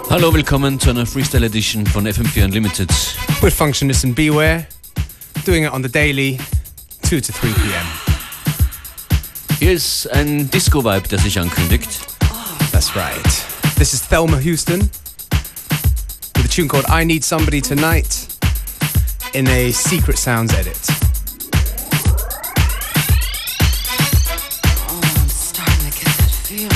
Hallo, willkommen zu einer Freestyle Edition von FM4 Unlimited. With Functionist and Beware, doing it on the daily, 2 to 3 p.m. Hier ist ein Disco-Vibe, der sich ankündigt. That's right. This is Thelma Houston with a tune called I Need Somebody Tonight in a Secret Sounds edit. Oh, I'm starting to get that feeling.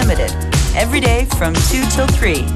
Unlimited, every day from 2 till 3.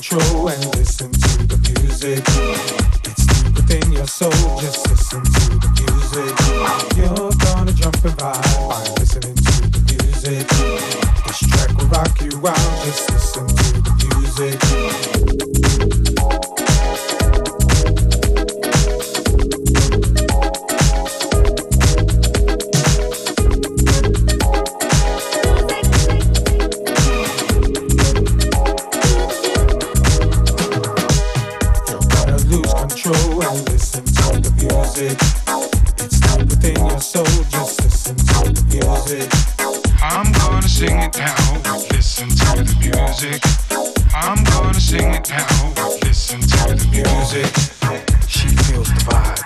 control and listen to the music. It's deep within your soul, just listen to the music. You're gonna jump and vibe by listening to the music. This track will rock you out, just listen to the music. It's deep within your soul, just listen to the music. I'm gonna sing it now, listen to the music. I'm gonna sing it now, listen to the music. She feels the vibe.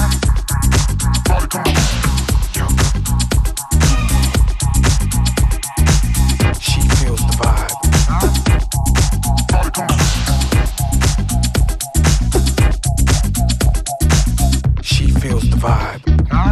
She feels the vibe. She feels the vibe.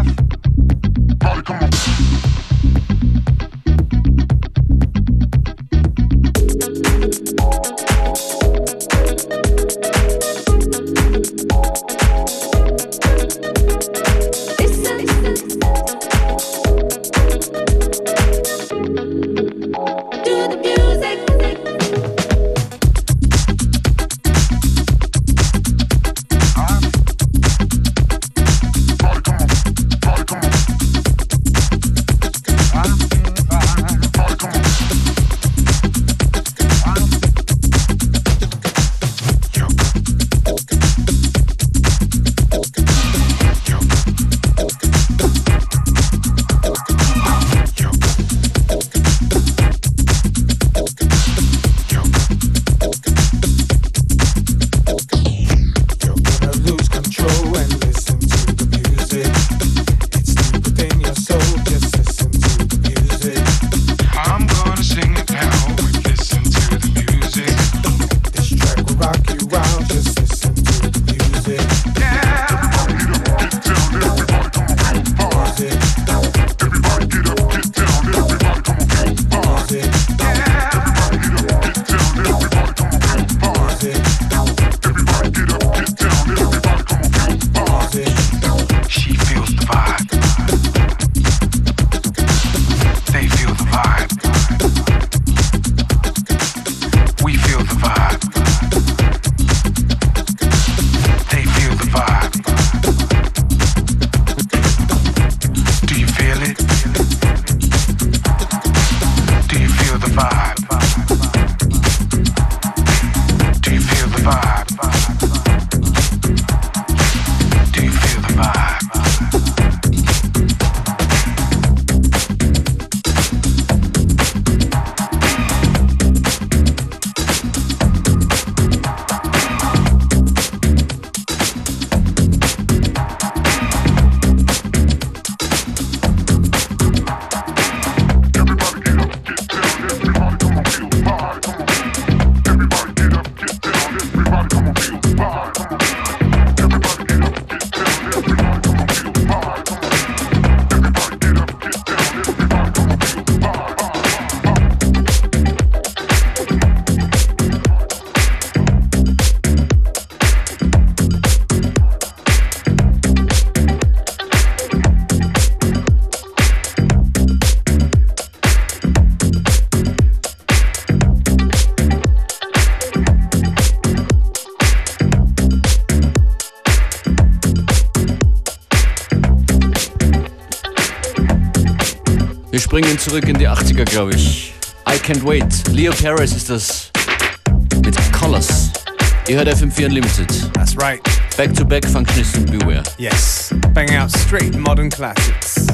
Wir springen zurück in die 80er, glaube ich. I Can't Wait. Leo Perez ist das mit Colors. Ihr hört FM4 Unlimited. That's right. Back to back, Functionist und Beware. Yes. Banging out straight modern classics.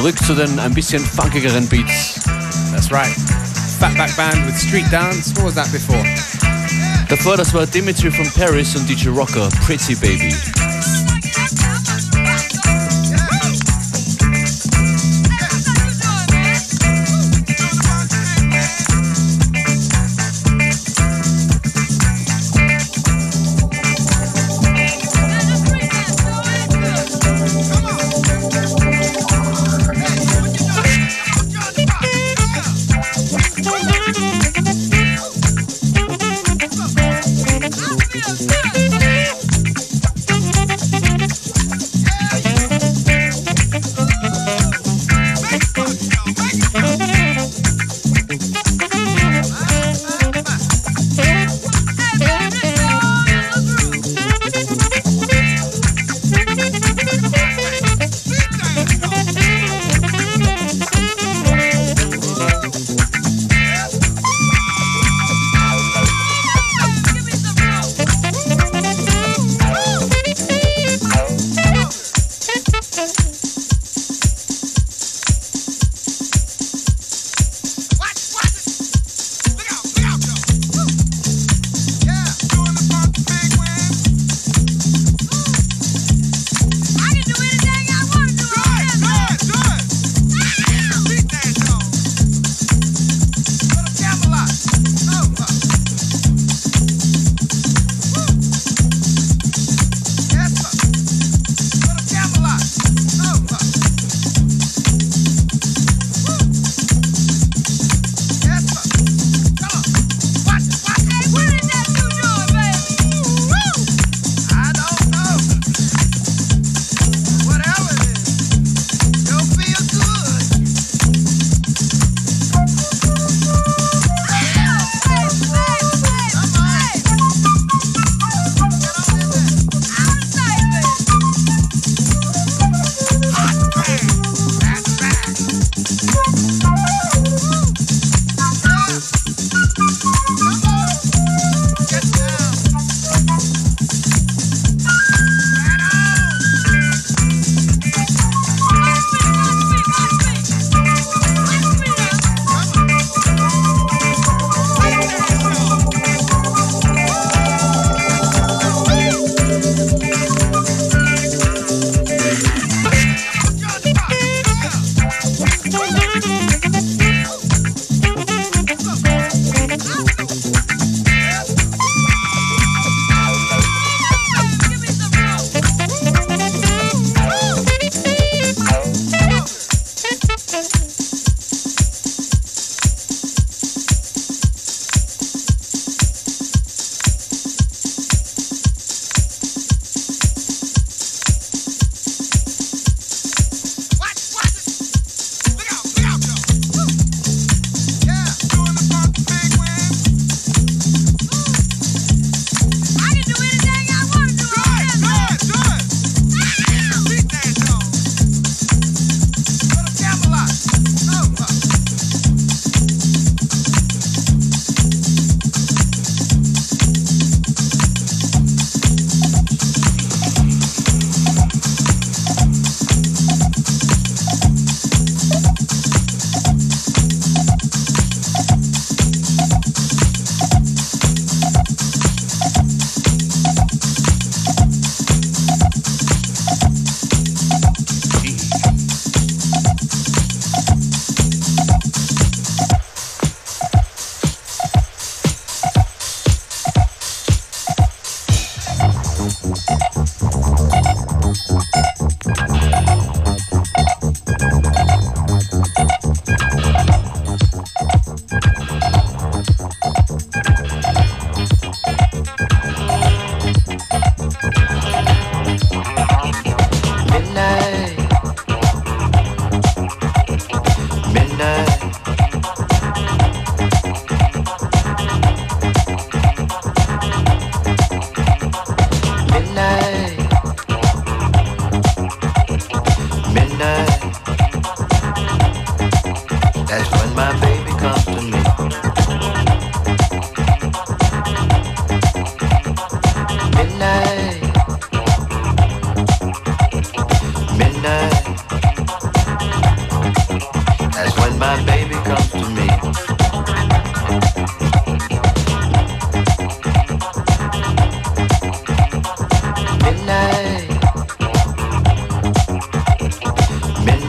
Zurück zu den ein bisschen funkigeren Beats. That's right. Fatback Band with Street Dance. What was that before? Davor, das war Dimitri from Paris und DJ Rocker, Pretty Baby.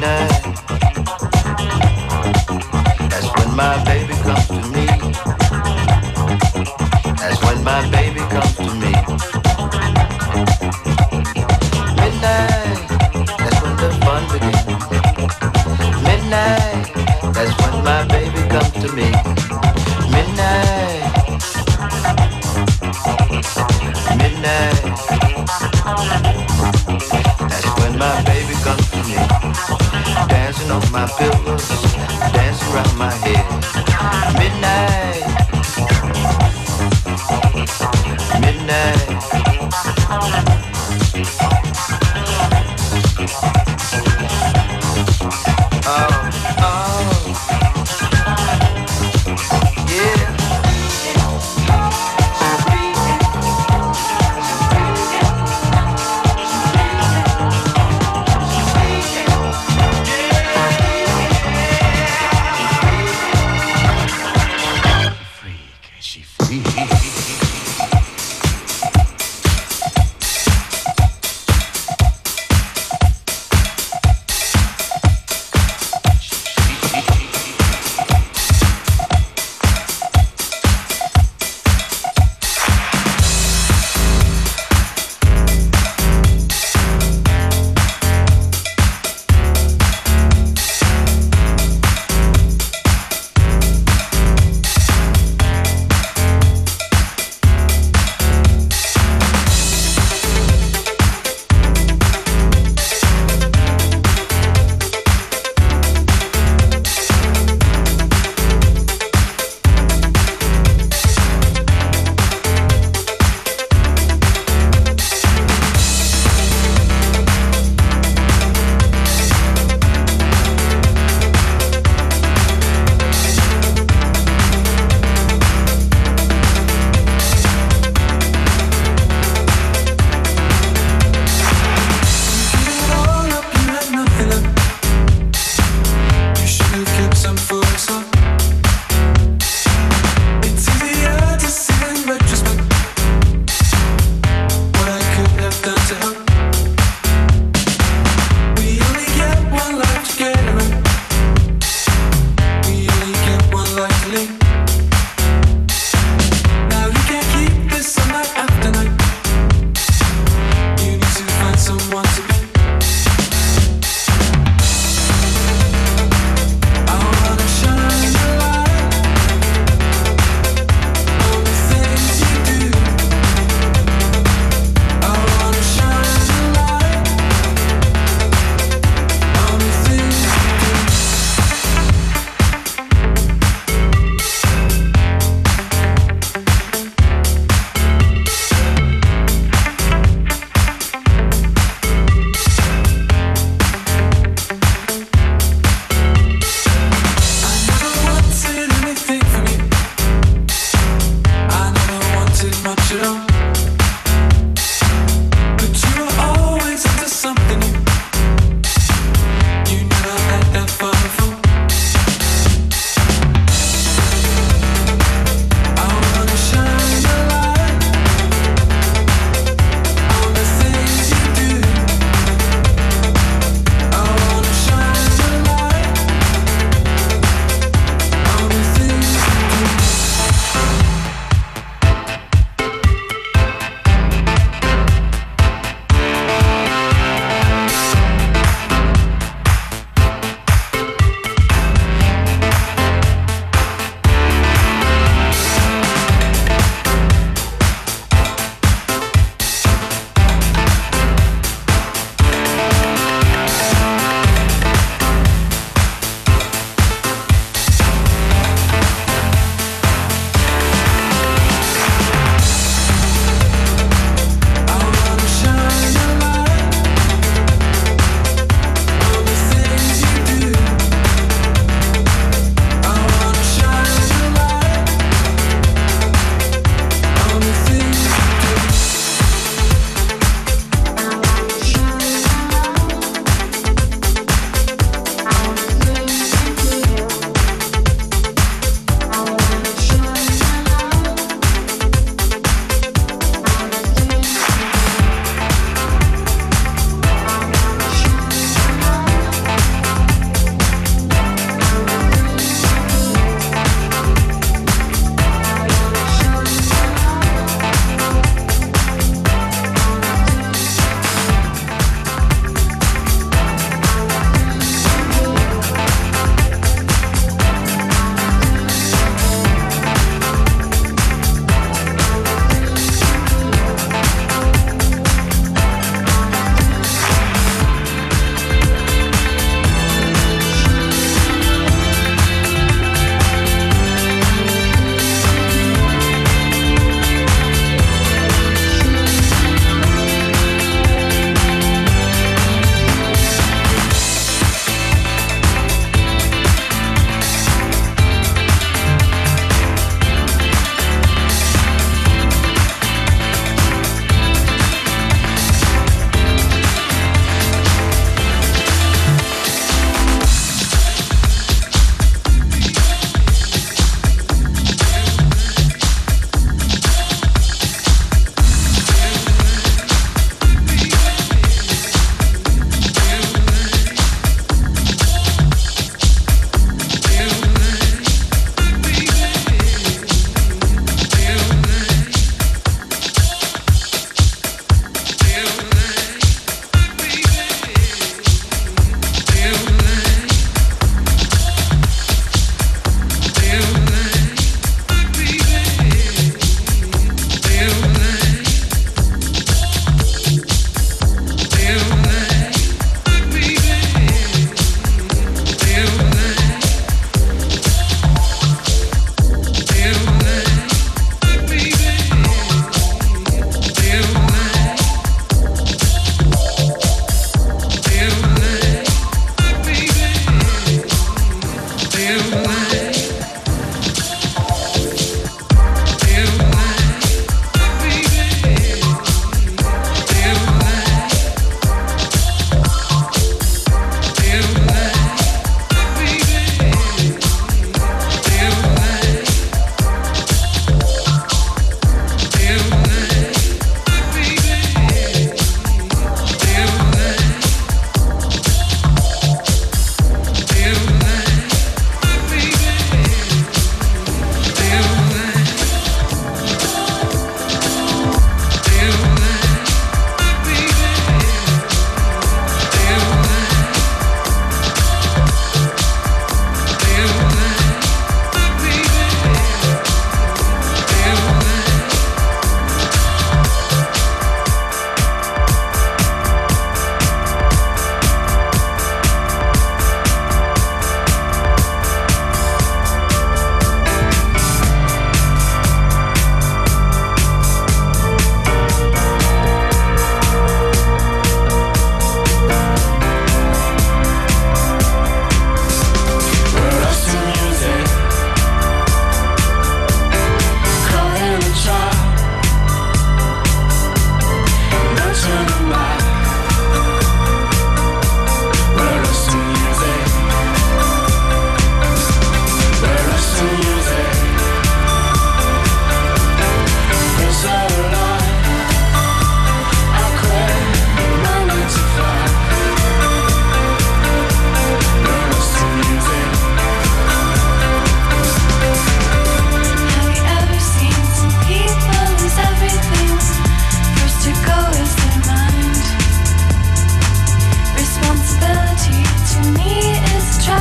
midnight. That's when my baby comes to me. That's when my baby comes to me. Midnight, that's when the fun begins. Midnight, that's when my baby comes to me. Midnight, midnight, that's when my baby comes to me. Dancing on my pillows, dancing around my head. Midnight, midnight. Oh, oh, yeah.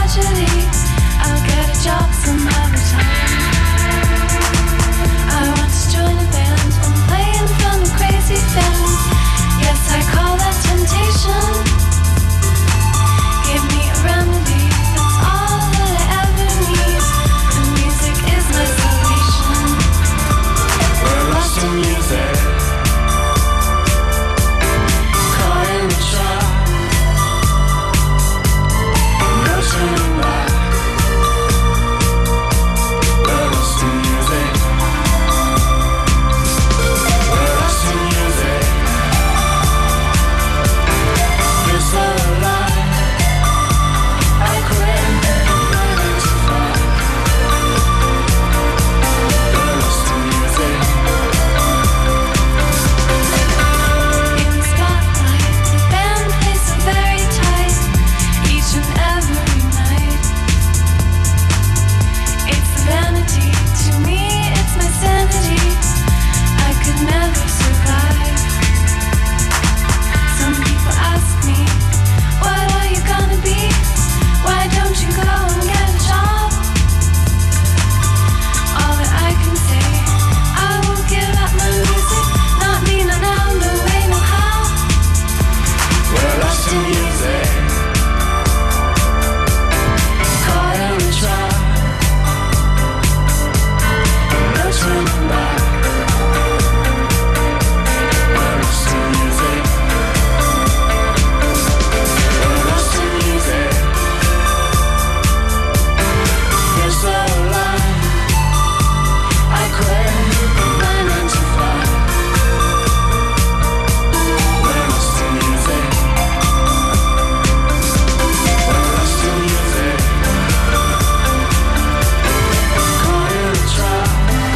tragedy. I'll get a job some other time. I want to join a band and play in front of crazy fans. Yes, I call that temptation. Give me a remedy, that's all that I ever need. And music is my salvation. We're lost in music. Caught in the trap. No turning back. We're lost in music. We're lost in music. Feel so alive. I quit. Learning to fly. We're lost in music. In the spotlight, the band plays so very tight, each and every night. It's a vanity, to me it's my sanity. I could never survive. Some people ask me, what are you gonna be? Why don't you go and get a job? All that I can say, I won't give up my music. Not me, not now, no way, no how. We're lost in music. Caught in a trap. No turning back. We're lost in music. We're lost in music. Feel so alive. I quit. Learning to fly. We're lost in music. We're lost in music. Caught in a trap.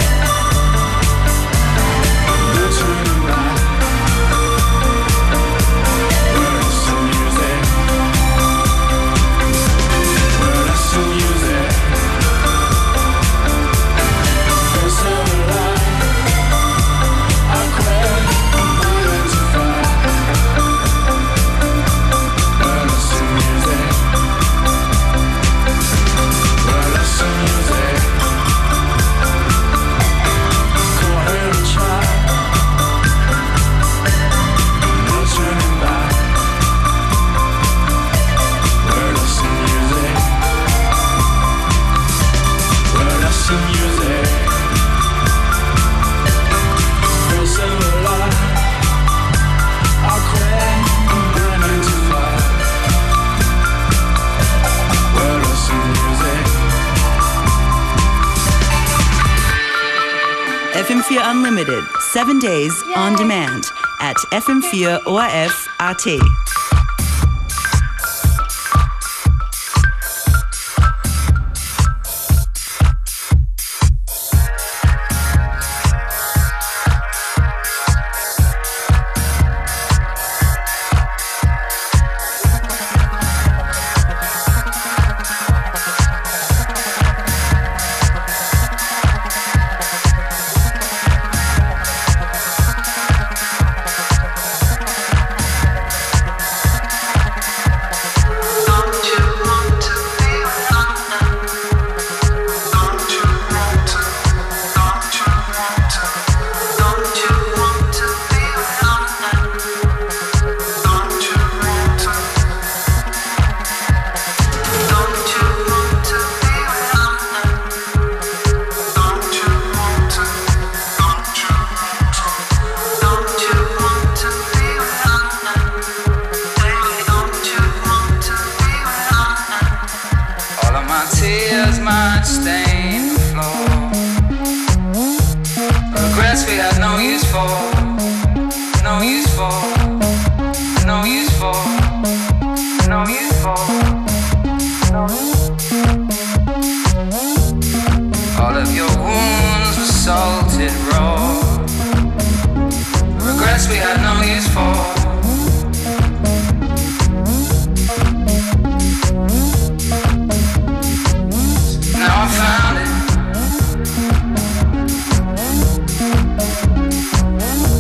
No turning back. We're lost in music. We're lost in music. Feel so alive. I quit. Learning to fly. We're lost in music. We're lost in music. Caught in a trap. No turning back. We're lost in music. We're lost in music. Feel so alive. I quit. Learning to fly. We're lost in music. FM4 Unlimited, 7 days on demand at FM4 ORF AT. All of my tears might stain the floor. Regrets we had no use for. No use for. No use for. No use for. All of your wounds were salted raw. Regrets we had no use for. Now I found it.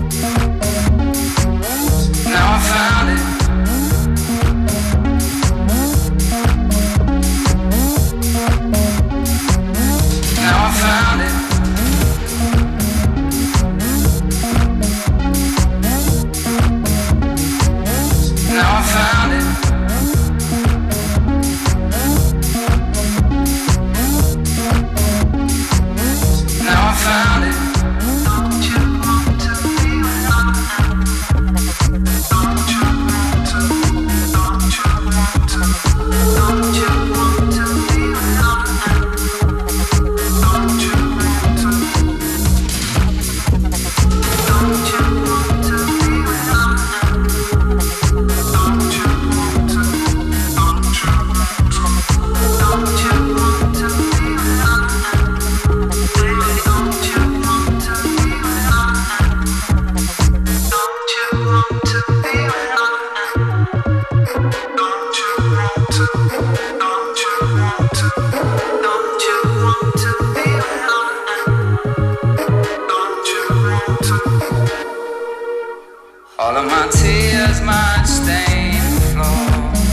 All of my tears might stain the floor.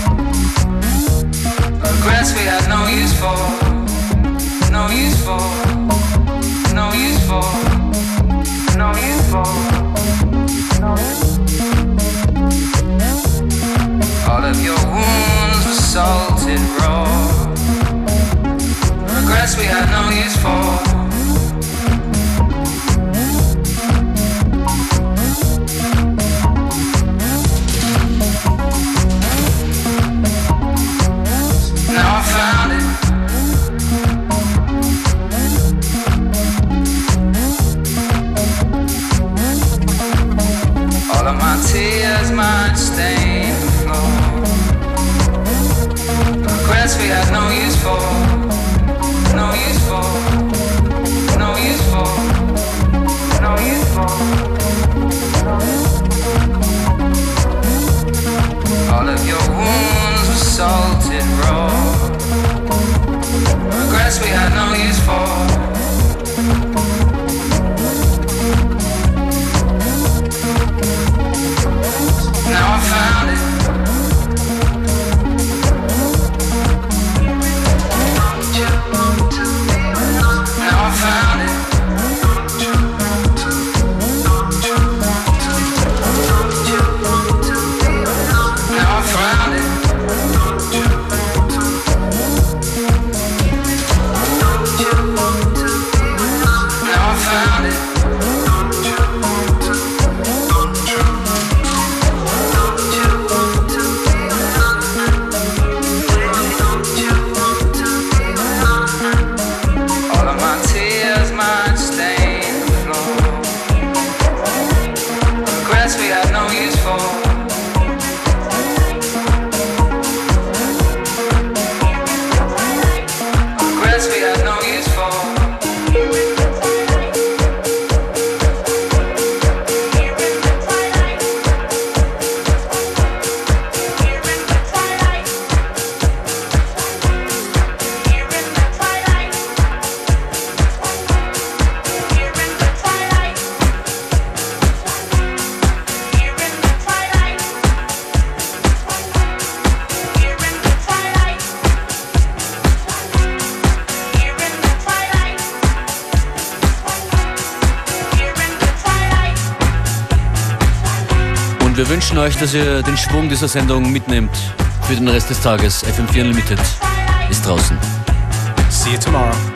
Regrets we had no use for, no use for, no use for, no use for. All of your wounds were salted raw. Regrets we had no use for. Now I found it. All of my tears might stain the floor. Regrets we had no use for, no use for, no use for, no use for. All of your wounds were salted raw. Regrets we had no use for. Now I found it. Now I found it. Now I found it. Now I found it. All of my tears might stain the floor. Regrets we had no use for. Regrets we had no use for. Und wir wünschen euch, dass ihr den Schwung dieser Sendung mitnehmt für den Rest des Tages. FM4 Unlimited ist draußen. See you tomorrow.